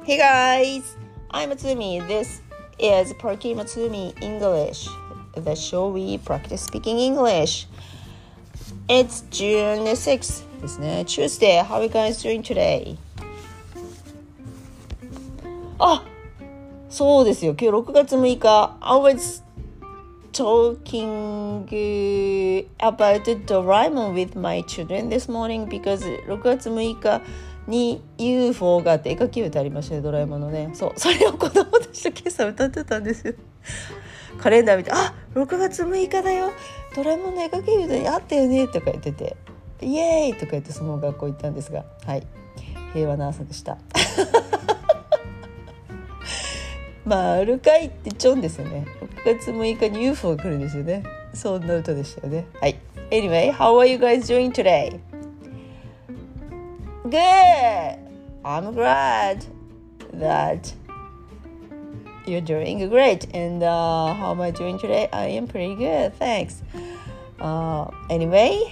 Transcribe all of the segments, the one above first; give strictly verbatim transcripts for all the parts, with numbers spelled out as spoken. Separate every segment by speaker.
Speaker 1: Hey guys, I'm Matsumi. This is Parky Matsumi English, the show we practice speaking English. It's June sixth ですね。Tuesday. How are you guys doing today? あ、そうですよ。今日ろくがつむいか。I was talking about Doraemon with my children this morning because ろくがつむいかに ユーフォー があって絵描き歌ありましたね、ドラえもんのね。そう、それを子供たちと今朝歌ってたんですよ。カレンダー見て、あ、ろくがつむいかだよ、ドラえもんの絵描き歌にあったよねとか言ってて、イエーイとか言ってその学校行ったんですが、はい、平和な朝でしたまあアルカイってチョンですよね。ろくがつむいかに ユーフォー が来るんですよね。そんな歌でしたよね。はい。Anyway, how are you guys doing today? Good. I'm glad that you're doing great. And uh, how am I doing today? I am pretty good. Thanks. Uh, anyway,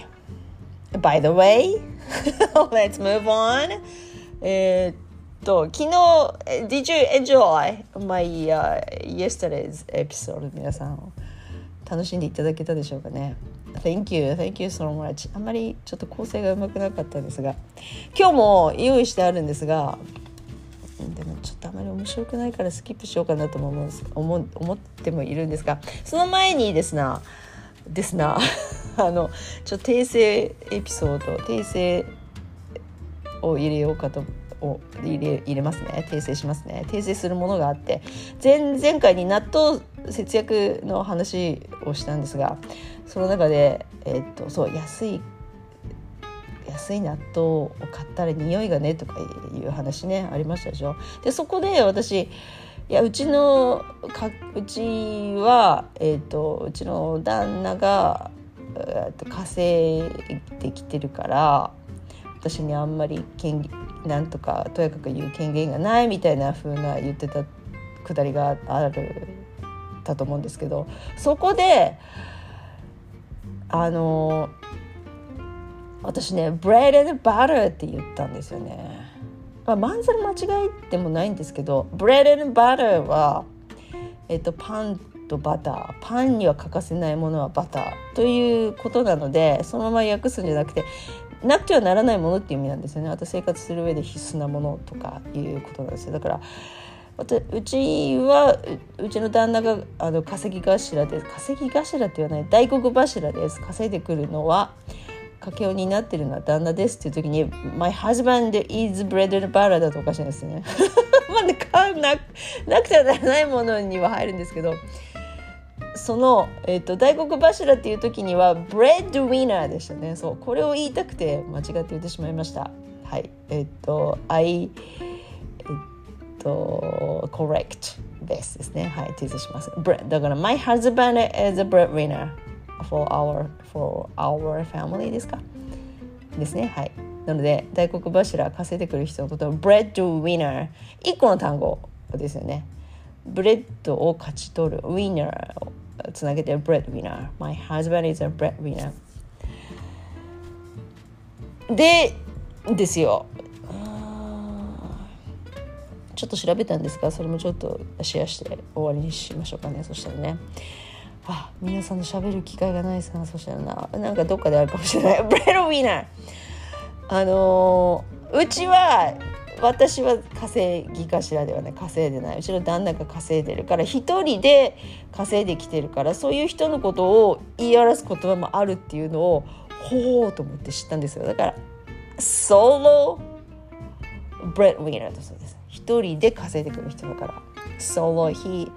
Speaker 1: by the way, let's move on. えー、っと昨日 Did you enjoy my、uh, yesterday's episode? 皆さん楽しんでいただけたでしょうかね。Thank you, thank you so much. あんまりちょっと構成がうまくなかったんですが、今日も用意してあるんですが、でもちょっとあまり面白くないからスキップしようかなとも思うんです思思ってもいるんですが、その前にですなですなあのちょっと訂正エピソード訂正を入れようかとを入れ入れますね。訂正しますね。訂正するものがあって、前々回に納豆節約の話をしたんですが、その中で、えー、っとそう安い安い納豆を買ったら匂いがねとかいう話ねありましたでしょ。でそこで私いやうちのかうちは、えー、っとうちの旦那が、えー、っと稼いできてるから私にあんまり権利なんとかとやかく言う権限がないみたいな風な言ってたくだりがあるだと思うんですけど、そこであの私ねブレッド&バターって言ったんですよね。まあ、まんざら間違いでもないんですけど、ブレッド&バターは、えっと、パンとバター、パンには欠かせないものはバターということなので、そのまま訳すんじゃなくてなくてはならないものっていう意味なんですよね。あと生活する上で必須なものとかいうことなんですよ。だからうちは う, うちの旦那があの稼ぎ頭です。稼ぎ頭って言わない大黒柱です。稼いでくるのは家計を担ってるのは旦那ですっていう時に My husband is bread and butter だとおかしいんですねまあねな, なくてはならないものには入るんですけど、その、えー、と大黒柱っていう時にはブレッドウィナーでしたね。そうこれを言いたくて間違って言ってしまいました。はい、えっ、ー、と I えっ、ー、と correct ですですね。はい、訂正します。だから My husband is a breadwinner for our for our family ですかですね。はい。なので大黒柱稼いでくる人のことをブレッドウィナーいっこの単語ですよね。ブレッドを勝ち取るウィナーをつなげてブレッドウィナー My husband is a breadwinner でですよ。ちょっと調べたんですが、それもちょっとシェアして終わりにしましょうかね。そしたらね、あ、皆さんの喋る機会がないですな。そしたらな、なんかどっかであるかもしれないブレッドウィナー、あのー、うちは私は稼ぎ頭ではない、稼いでない、うちの旦那が稼いでるから一人で稼いできてるから、そういう人のことを言い表す言葉もあるっていうのをほうと思って知ったんですよ。だからソロブレッドウィナーだそうです。一人で稼いでくる人だからソロ he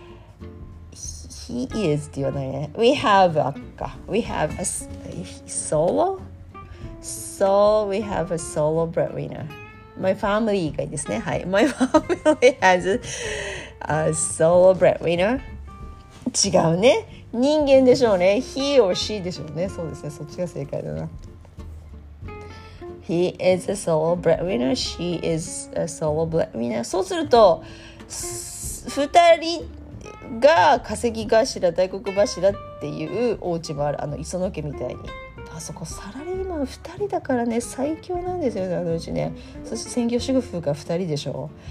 Speaker 1: he is って言わないね。 we have a か we have a solo so we have a solo breadwinner My family がいいですね。はい。My family has a solo breadwinner 違うね。人間でしょうね。He or she でしょうね。そうですね。そっちが正解だな。He is a solo breadwinner. She is a solo breadwinner. そうするとふたりが稼ぎ頭大黒柱っていうお家もある。あの磯野家みたいにあそこサラリーマンふたりだからね最強なんですよね、あのうちね。そして専業主婦がふたりでしょ。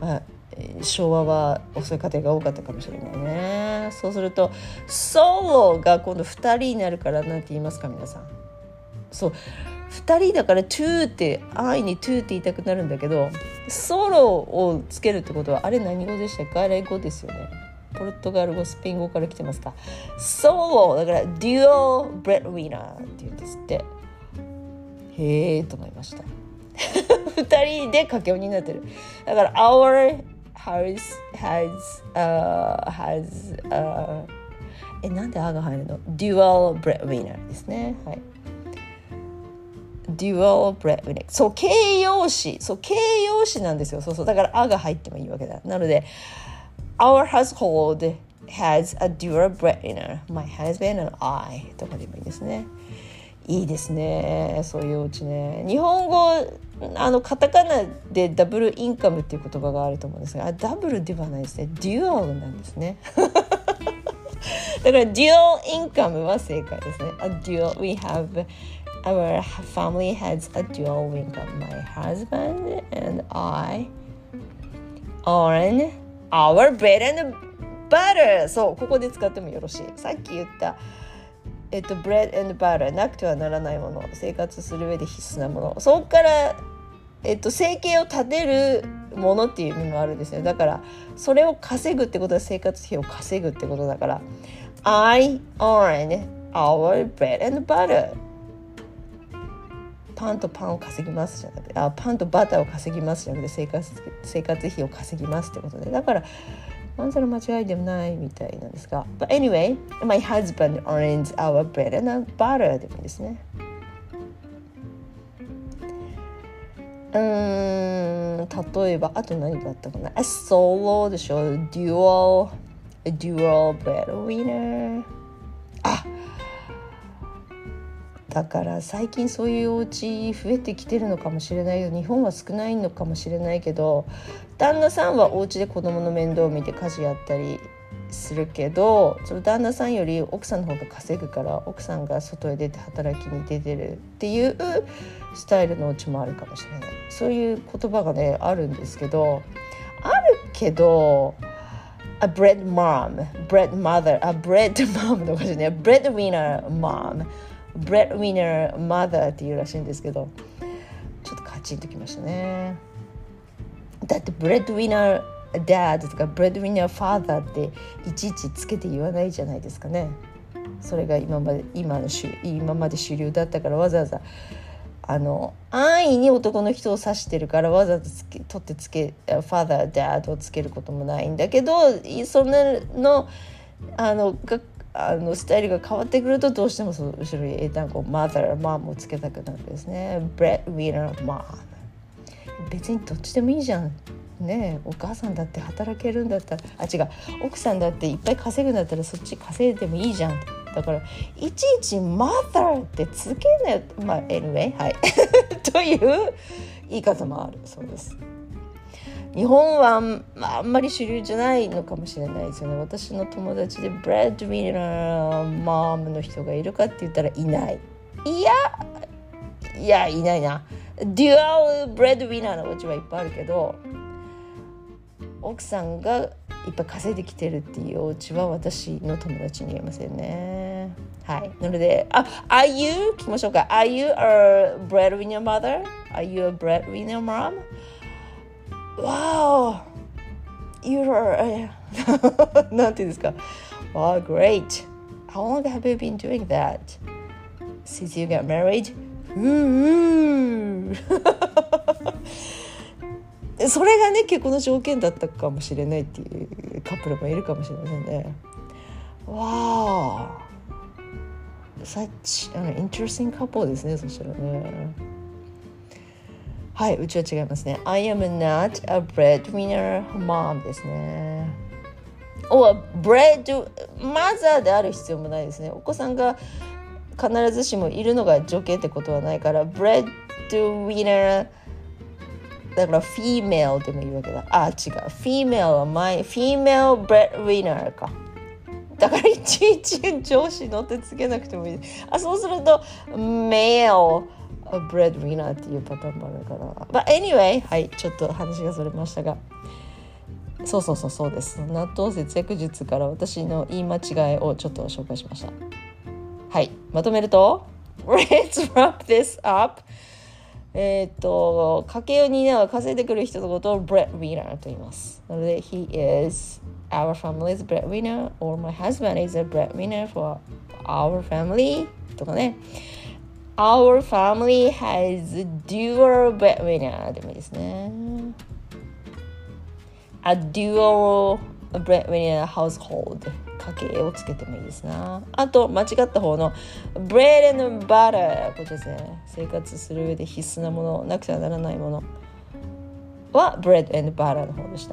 Speaker 1: あ昭和は遅い家庭が多かったかもしれないね。そうするとソロが今度ふたりになるからなんて言いますか皆さん。そうふたりだから to って愛に to って言いたくなるんだけど、ソロをつけるってことはあれ何語でしたか？あれ語ですよね。ポルトガル語スペイン語から来てますか。ソロだからデュオブレッドウィナーって言うんですって。へーと思いました。ふたりで掛け音になってる。だから our has has uh, has uh, えなんであが入るの？ dual breadwinner ですね。はい。dual breadwinner。そう形容詞、そう形容詞なんですよ。そうそうだからあが入ってもいいわけだ。なので our household has a dual breadwinner. My husband and I とかでもいいですね。いいですねそういうお家ね。日本語あのカタカナでダブルインカムっていう言葉があると思うんですが、ダブルではないですね。デュアルなんですね。だからデュアルインカムは正解ですね。A dual, we have our family has a dual income. My husband and I earn our bread and butter. そうここで使ってもよろしい。さっき言ったえっと、ブレッド&バターなくてはならないもの、生活する上で必須なもの、そこから、えっと、生計を立てるものっていう意味もあるんですよ。だからそれを稼ぐってことは生活費を稼ぐってことだから I earn our bread and butter。 パンとパンを稼ぎますじゃなくてあパンとバターを稼ぎますじゃなくて生活、生活費を稼ぎますってことで、だからまんざら間違いでもないみたいなんですが But anyway, my husband earns our bread and butter でもいいですね。うーん例えばあと何があったかな。 A solo でしょ。 Dual A dual breadwinner。 あだから最近そういうお家増えてきてるのかもしれないよ。日本は少ないのかもしれないけど、旦那さんはお家で子供の面倒を見て家事やったりするけど、その旦那さんより奥さんの方が稼ぐから奥さんが外へ出て働きに出てるっていうスタイルのお家もあるかもしれない。そういう言葉がねあるんですけど、あるけどA bread mom, bread mother, a bread mom のかしらね、breadwinner momブレッドウィナーマザーっていうらしいんですけど、ちょっとカチンときましたね。だってブレッドウィナーダッドとかブレッドウィナーファーザーっていちいちつけて言わないじゃないですかね。それが今まで今の今まで主流だったから、わざわざあの安易に男の人を指してるからわざわざつけ取ってつけファーザーダッドをつけることもないんだけど、そんなのあのがあのスタイルが変わってくるとどうしてもその後ろに英単語 mother mom をつけたくなるんですね。 breadwinner mom 別にどっちでもいいじゃんね。お母さんだって働けるんだったらあ違う奥さんだっていっぱい稼ぐんだったらそっち稼いでもいいじゃん。だからいちいち mother ってつけないまあ anyway はいという言い方もあるそうです。日本は、まあ、あんまり主流じゃないのかもしれないですよね。私の友達でブレッドウィナーマームの人がいるかって言ったらいない。いやいやいないな。デュアルブレッドウィナーのお家はいっぱいあるけど、奥さんがいっぱい稼いできてるっていうお家は私の友達に言えませんね。はい。なので、あ、Are you? 聞きましょうか。Are you a breadwinner mother? Are you a breadwinner mom?Wow, you're なんていうんですか Wow, great. How long have you been doing that? Since you got married? それがね結婚の条件だったかもしれないっていうカップルもいるかもしれませんね。Wow, such an interesting couple ですね。そしたらね、はい、うちは違いますね。I am not a breadwinner mom ですね。お、bread mother である必要もないですね。お子さんが必ずしもいるのが条件ってことはないから、breadwinner だから female でもいいわけだ。あ、違う。female は my female breadwinner か。だからいちいち上司のってつけなくてもいい。あ、そうすると male breadwinner っていうパターンもあるから。But anyway、はい、ちょっと話がそれましたが、 そうそうそうそうです。納豆節約術から私の言い間違いをちょっと紹介しました。はい、まとめるとLet's wrap this up。えっと家計を担う稼いでくる人のことを breadwinner と言います。なので He is our family's breadwinner or my husband is a breadwinner for our family とかね。Our family has a dual breadwinner でもいいですね。A dual breadwinner household 家計をつけてもいいですな。あと間違った方の bread and butter これですね。生活する上で必須なもの、なくてはならないものは bread and butter の方でした。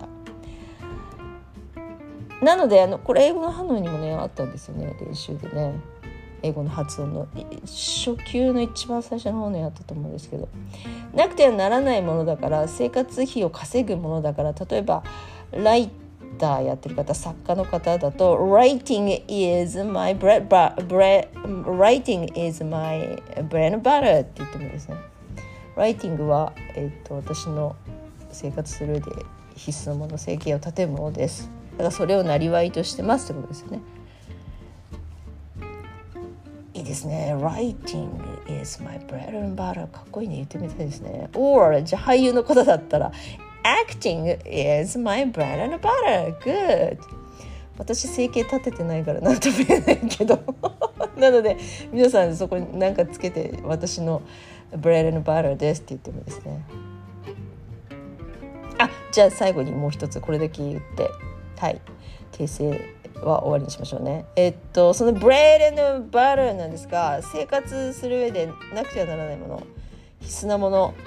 Speaker 1: なのであのこれ英語のハノイにもねあったんですよね、練習でね。英語の発音の初級の一番最初の方にあったと思うんですけど、なくてはならないものだから、生活費を稼ぐものだから、例えばライターやってる方、作家の方だと Writing is my bread, bread Writing is my bread and butter って言ってもいいですね。Writing は、えー、と私の生活する上で必須のもの、生計を立てるものです。だからそれをなりわいとしてますってことですよね。いいですね。 Writing is my bread and butter かっこいいね。言ってみたいですね。 Or じゃあ俳優の方だったら Acting is my bread and butter Good。 私生計立ててないから何とも言えないけどなので皆さんそこに何かつけて私の bread and butter ですって言ってもいいですね。あ、じゃあ最後にもう一つこれだけ言ってはい訂正は終わりにしましょうね。えっとその bread and butter なんですが、生活する上でなくてはならないもの、必須なもの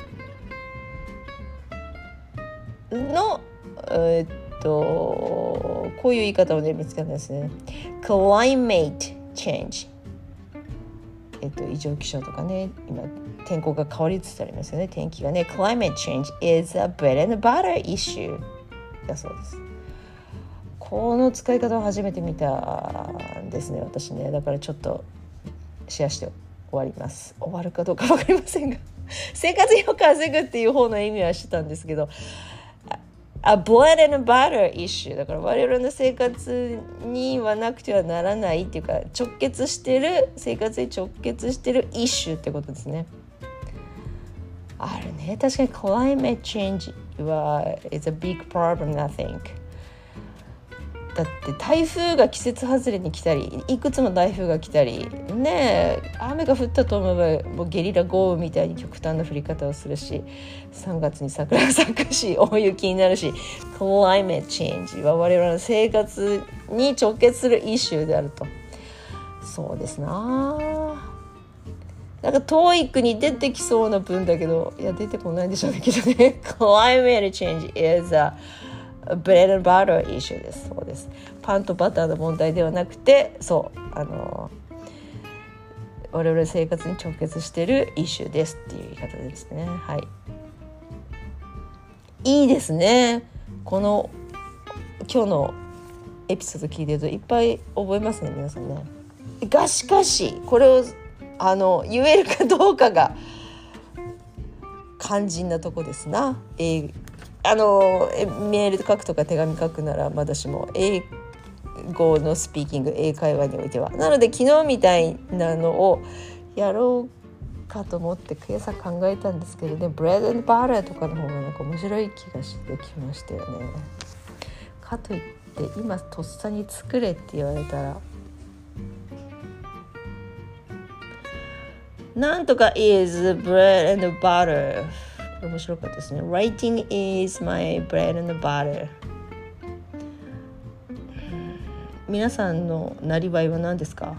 Speaker 1: のえっとこういう言い方をね見つけたんですね。 Climate change、 えっと異常気象とかね、今天候が変わりつつありますよね。天気がね。 Climate change is a bread and butter issue だそうです。この使い方を初めて見たんですね、私ね。だからちょっとシェアして終わります。終わるかどうか分かりませんが生活費を稼ぐっていう方の意味はしてたんですけど、A bread and butter issue だから我々の生活にはなくてはならないっていうか、直結してる、生活に直結してるイシュってことですね。あるね、確かに climate change は is a big problem I think。だって台風が季節外れに来たり、いくつも台風が来たりね、雨が降ったと思えばもうゲリラ豪雨みたいに極端な降り方をするし、さんがつに桜が咲くし大雪になるし、climate change は我々の生活に直結するイシューであると。そうですな、なんか トーイック に出てきそうな文だけど、いや出てこないんでしょうけどねclimate change is a bread and butter issue です。そうです。パンとバターの問題ではなくて、そうあの我々生活に直結しているイシューですっていう言い方ですね。はい。いいですね。この今日のエピソード聞いてるといっぱい覚えますね、皆さんね。がしかしこれをあの言えるかどうかが肝心なとこですな。えーあのメール書くとか手紙書くならまだしも英語のスピーキング、英会話においては。なので昨日みたいなのをやろうかと思って今朝考えたんですけどね、ブレッド&バターとかの方がなんか面白い気がしてきましたよね。かといって今とっさに作れって言われたらなんとか is bread and butter、面白かったですね。 Writing is my bread and butter。 皆さんのなりわいは何ですか？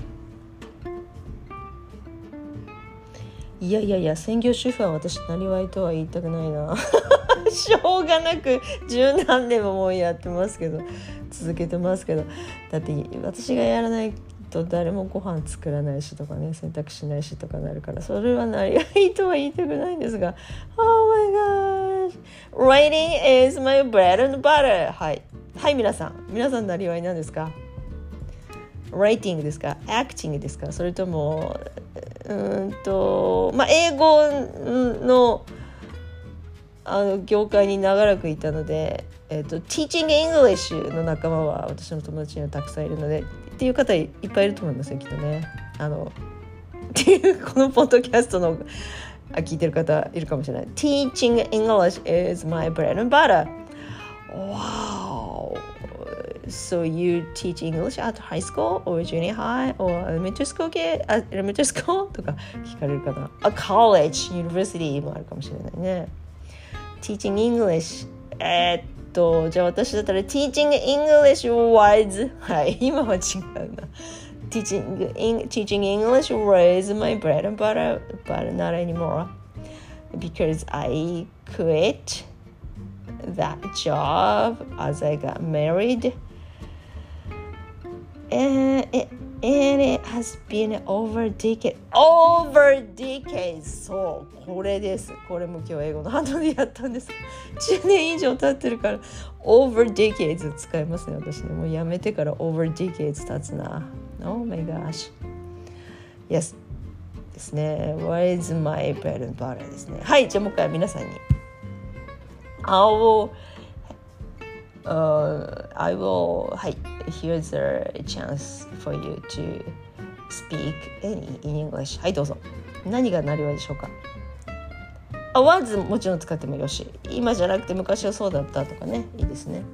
Speaker 1: いやいやいや、専業主婦は私なりわいとは言いたくないなしょうがなく十何年ももうやってますけど、続けてますけど、だって私がやらないと誰もご飯作らないしとかね、洗濯しないしとかなるから、それはなりわいとは言いたくないんですが、 Oh my gosh Writing is my bread and butter。 はいはい、皆さん皆さんなりわいなんですか？ Writing ですか？ Acting ですか？それともうーんとまあ英語のあの業界に長らくいたのでえーと、Teaching English の仲間は私の友達にはたくさんいるのでっていう方いっぱいいると思いますよきっとね。あのっていうこのポッドキャストの聞いてる方いるかもしれない。 Teaching English is my bread and butter. Wow. So you teach English at high school or junior high or elementary school? Elementary school? とか聞かれるかな。A college, university もあるかもしれないね。Teaching English えー、っとじゃあ私だったら Teaching English was はい今は違うな。Teaching, teaching English was my bread and butter, but not anymore because I quit that job as I got married, and it, and it has been over decade, over decades. そうこれです。これも今日英語のハンドでやったんです。じゅうねん以上経ってるから over decades 使いますね私ね。もうやめてから over decades 経つな。Oh my gosh. Yes. ですね。What is my bread and butter ですね。はい、じゃあもう一回皆さんに。I will, uh, I will, はい、here's a chance for you to speak any in English. はい、どうぞ。何がなりわいでしょうか。あ、was もちろん使ってもよし。今じゃなくて昔はそうだったとかね。いいですね。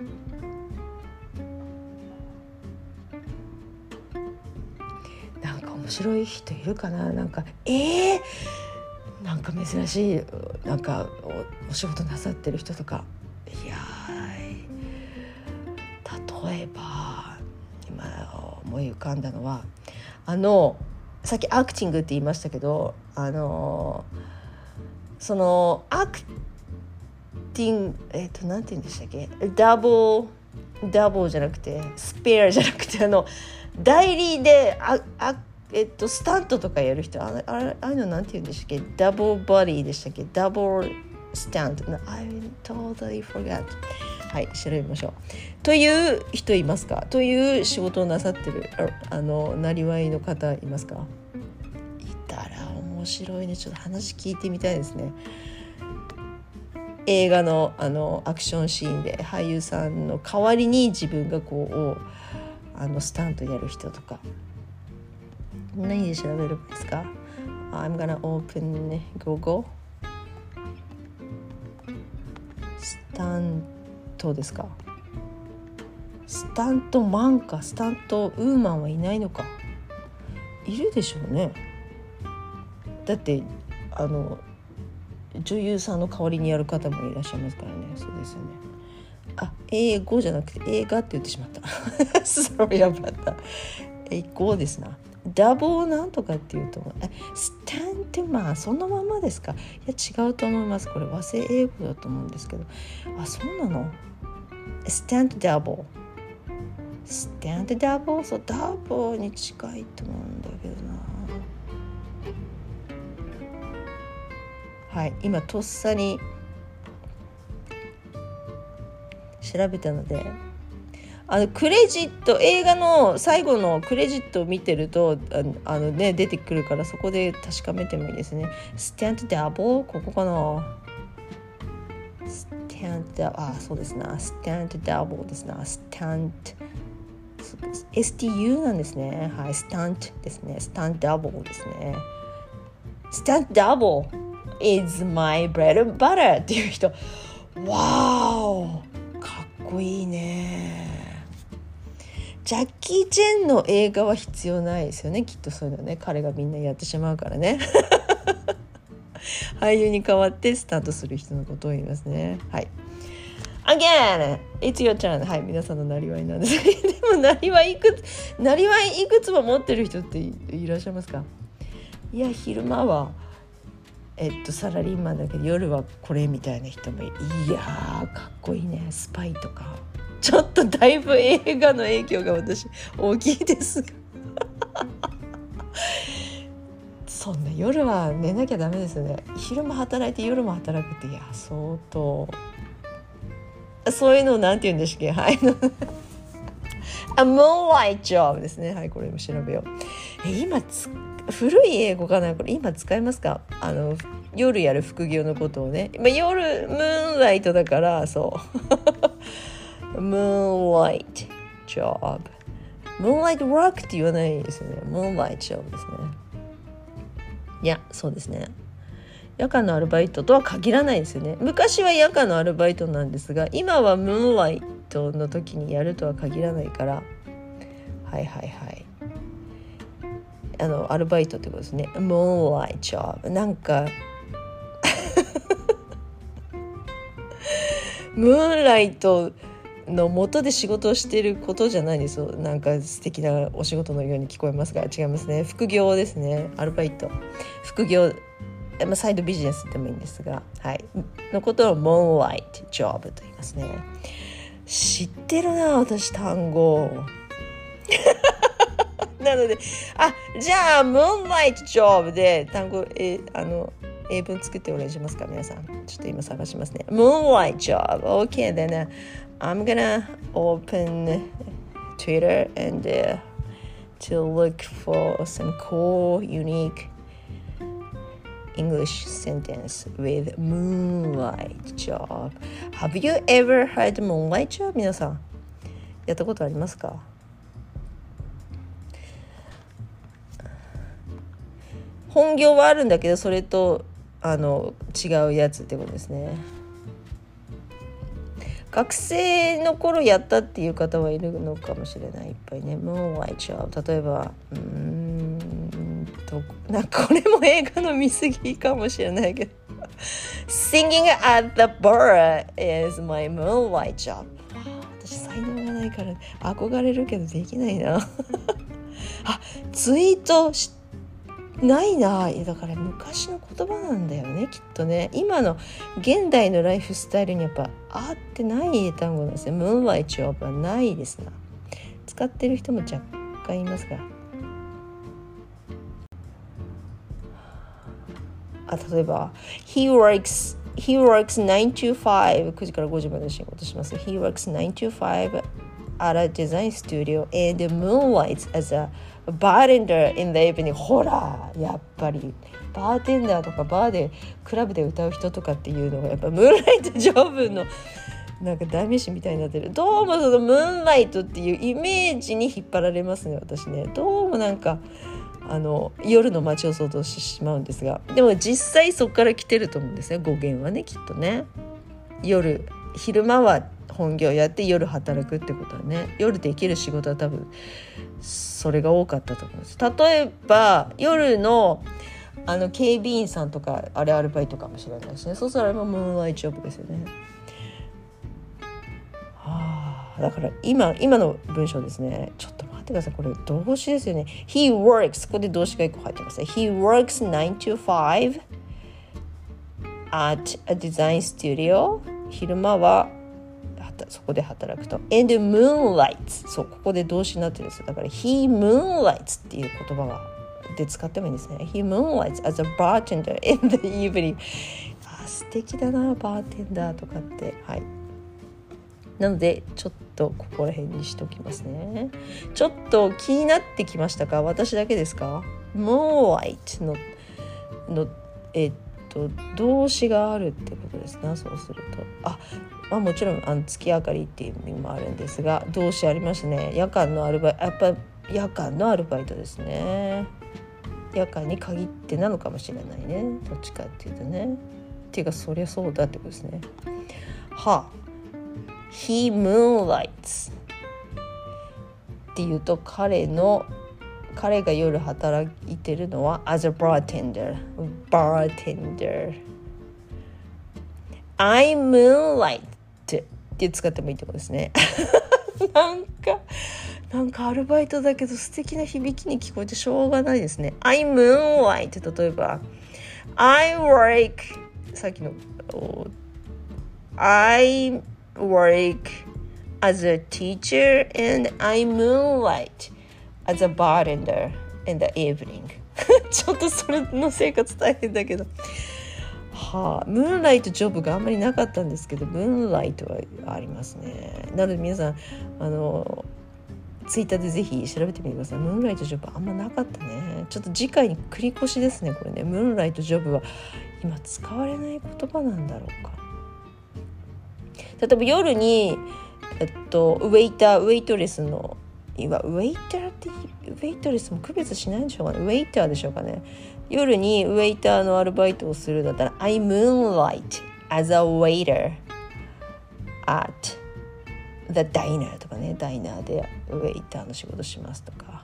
Speaker 1: 面白い人いるかな。なんかえー、なんか珍しいなんか お, お仕事なさってる人とかいや例えば今思い浮かんだのはあのさっきアクティングって言いましたけどあのそのアクティングえっ、ー、となんて言うんでしたっけダブルダブルじゃなくてスペアじゃなくてあの代理でああえっと、スタントとかやる人 あ, あ, ああいうのなんて言うんでしたっけダブルボディでしたっけダブルスタント I totally forgot はい調べましょうという人いますかという仕事をなさってる あ, あのなりわいの方いますかいたら面白いねちょっと話聞いてみたいですね映画 の, あのアクションシーンで俳優さんの代わりに自分がこうあのスタントやる人とか何で調べるんですか I'm gonna open Google スタントですかスタントマンかスタントウーマンはいないのかいるでしょうねだってあの女優さんの代わりにやる方もいらっしゃいますからねそうですよねあ英語じゃなくて映画って言ってしまった Sorry about that 英語ですなダブルなんとかっていうとえスタントマンそのままですかいや違うと思いますこれ和製英語だと思うんですけどあそうなのスタントダブルスタントダブルそうダブルに近いと思うんだけどなはい今とっさに調べたのであのクレジット映画の最後のクレジットを見てると あ, あの、ね、出てくるからそこで確かめてもいいですねスタントダブルここかなスタントあそうですなスタントダブルですなスタント エスティーユー なんですねはいスタントですねスタントダブルですねスタントダブル is my bread and butter っていう人わーかっこいいねジャッキー・チェンの映画は必要ないですよねきっとそういうのね彼がみんなやってしまうからね俳優に代わってスタートする人のことを言いますねはい Again it's your turn はい皆さんのなりわいなんですでもなりわいいくつなりわいいくつも持ってる人って い, いらっしゃいますかいや昼間はえっとサラリーマンだけど夜はこれみたいな人もいやーかっこいいねスパイとかちょっとだいぶ映画の影響が私大きいですそんな夜は寝なきゃダメですよね昼も働いて夜も働くっていや相当そういうのをなんて言うんですっけはいA moonlight job ですねはいこれも調べようえ今つ古い英語かなこれ今使いますかあの夜やる副業のことをね、まあ、夜ムーンライトだからそう moonlight job moonlight work って言わないですよね。moonlight job ですね。いや、そうですね。夜間のアルバイトとは限らないですよね。昔は夜間のアルバイトなんですが、今はムーンライトの時にやるとは限らないから、はいはいはい。あのアルバイトってことですね。ムーンライトジョブ。なんかムーンライトの元で仕事をしていることじゃないですよ。なんか素敵なお仕事のように聞こえますが、違いますね。副業ですね。アルバイト、副業、まあ、サイドビジネスでもいいんですが、はい、のことをモーンライトジョブと言いますね。知ってるな、私単語なので、あ、じゃあムーンライトジョブで単語、えあの英文作ってお願いしますか、皆さん。ちょっと今探しますね。Moonlight job. Okay, then、uh, I'm gonna open Twitter and、uh, to look for some cool, unique English sentence with moonlight job. Have you ever heard moonlight job? 皆さん、やったことありますか？本業はあるんだけど、それとあの違うやつってことですね。学生の頃やったっていう方はいるのかもしれない。いっぱいね。Moonlight job。例えばうーんとなんかこれも映画の見過ぎかもしれないけどSinging at the bar is my moonlight job。 私才能がないから憧れるけどできないなあ、ツイートしないな。だから昔の言葉なんだよね、きっとね。今の現代のライフスタイルにやっぱ合ってない単語なんですね。ムーンライトジョブはないですな。使ってる人も若干いますが、あ、例えば He works He works nine to five くじからごじまで仕事します。 He works nine to five at a design studio and moonlights as a bartender in the evening。 ほら、やっぱりバーテンダーとかバーでクラブで歌う人とかっていうのがやっぱムーンライトジョブのなんか代名詞みたいになってる。どうもそのムーンライトっていうイメージに引っ張られますね、私ね。どうもなんかあの夜の街を想像してしまうんですが、でも実際そこから来てると思うんですね、語源はね、きっとね。夜、昼間は本業やって夜働くってことはね、夜できる仕事は多分それが多かったと思います。例えば夜のあの警備員さんとか、あれアルバイトかもしれないですね。そうするとあれもムーンライトジョブですよね。はあ、だから今今の文章ですね。ちょっと待ってください、これ動詞ですよね。 He works、 ここで動詞がいっこ入ってますね。 He works nine to five at a design studio。 昼間はそこで働くと。 And moonlights、 そう、ここで動詞になってるんですよ。だから He moonlights っていう言葉がで使ってもいいんですね。 He moonlights as a bartender in the evening。 あ、素敵だな、バーテンダーとかって。はい、なのでちょっとここら辺にしときますね。ちょっと気になってきましたか？私だけですか？ moonlight ののえっと動詞があるってことですね。そうすると、あ、まあ、もちろんあの月明かりっていう意味もあるんですが、動詞ありますね。夜間のアルバイト、やっぱ夜間のアルバイトですね。夜間に限ってなのかもしれないね、どっちかっていうとね。っていうかそりゃそうだってことですね。はあ、He moonlights っていうと、彼の彼が夜働いてるのは as a bartender bartender I moonlight って使ってもいいってことですねなんかなんかアルバイトだけど素敵な響きに聞こえてしょうがないですね。 I moonlight、 例えば I work、 さっきの I work as a teacher and I moonlight as a bartender in the evening ちょっとそれの生活大変だけど、はあ、ムーンライトジョブがあんまりなかったんですけど、ムーンライトはありますね。なので皆さんあのツイッターでぜひ調べてみてください。ムーンライトジョブあんまなかったね。ちょっと次回に繰り越しですね、これね。ムーンライトジョブは今使われない言葉なんだろうか。例えば夜にえっとウェイターウェイトレスの今ウェイターってウェイトレスも区別しないんでしょうかね。ウェイターでしょうかね。夜にウェイターのアルバイトをするだったら I moonlight as a waiter at the diner とかね、ダイナーでウェイターの仕事しますとか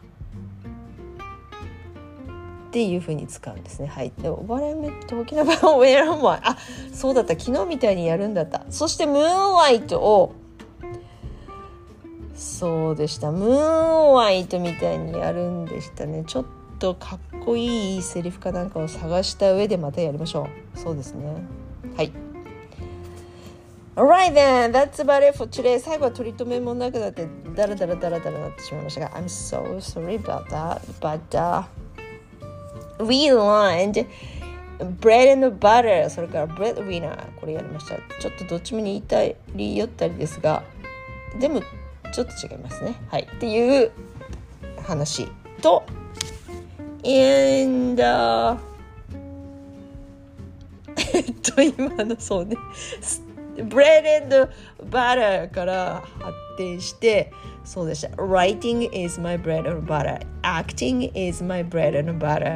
Speaker 1: っていう風に使うんですね。はい。で、What I meant talking about where am I? あ、そうだった。昨日みたいにやるんだった。そしてムーンライトをそうでした。ムーンライトみたいにやるんでしたね。ちょっとかっこいいセリフかなんかを探した上でまたやりましょう。そうですね。はい。Alright then, that's about it for today. 最後は取り留めもなくなってダラダラダラダラなってしまいましたが I'm so sorry about that. But、uh, we learned bread and butter それから breadwinner これやりました。ちょっとどっちも似たり寄ったりですがでもちょっと違いますね。はい。っていう話と and、uh, えっと今のそうねbread and butter から発展してそうでした。Writing is my bread and butter. Acting is my bread and butter.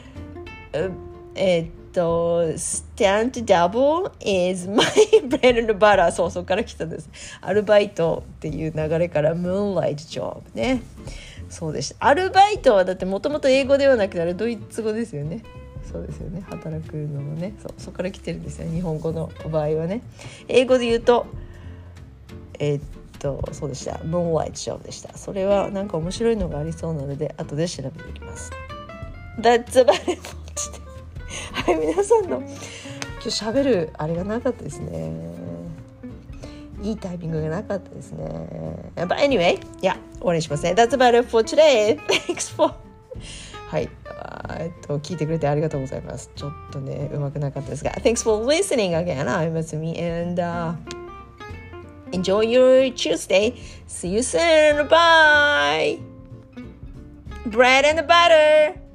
Speaker 1: えっと Stand double is my bread and butter. そうそこから来たんです。アルバイトっていう流れから Moonlight job ね。そうでした。アルバイトはだってもともと英語ではなくてあれドイツ語ですよね。そうですよね。働くのもね。そうそこから来てるんですよ。日本語の場合はね。英語で言うとえー、っとそうでした。Moonlight job でした。それはなんか面白いのがありそうなので後で調べていきます。That's about it. はい、皆さんの今日喋るあれがなかったですね。いいタイミングがなかったですね。But anyway, yeah, 終わりにしますね。That's about it for today. Thanks for はい、えっと聞いてくれてありがとうございます。ちょっとねうまくなかったですが Thanks for listening again. I'm Matsumi and、uh, enjoy your Tuesday. See you soon. Bye. Bread and butter.